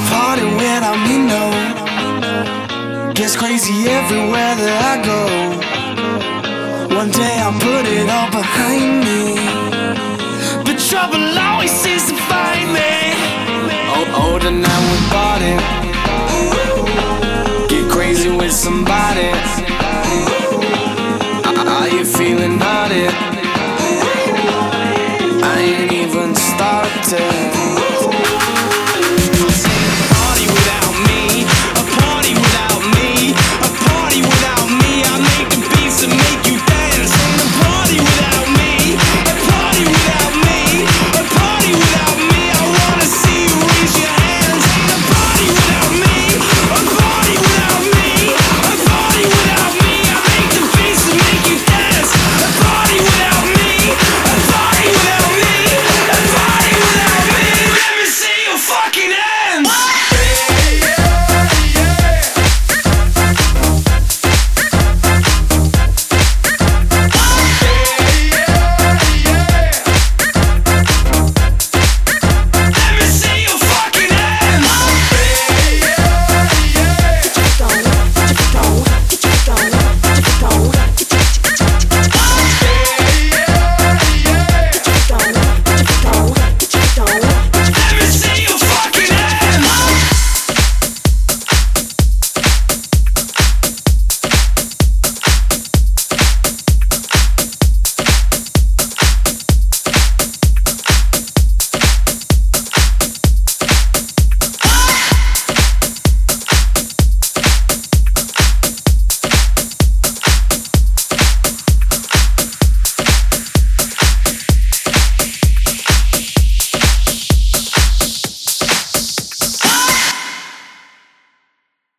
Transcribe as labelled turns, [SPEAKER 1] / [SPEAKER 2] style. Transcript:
[SPEAKER 1] party without me, no. Gets crazy everywhere that I go. One day I'll put it all behind me, but trouble always seems to find me. Older now we bought it. Get crazy with somebody. Are you feeling naughty? I ain't even started.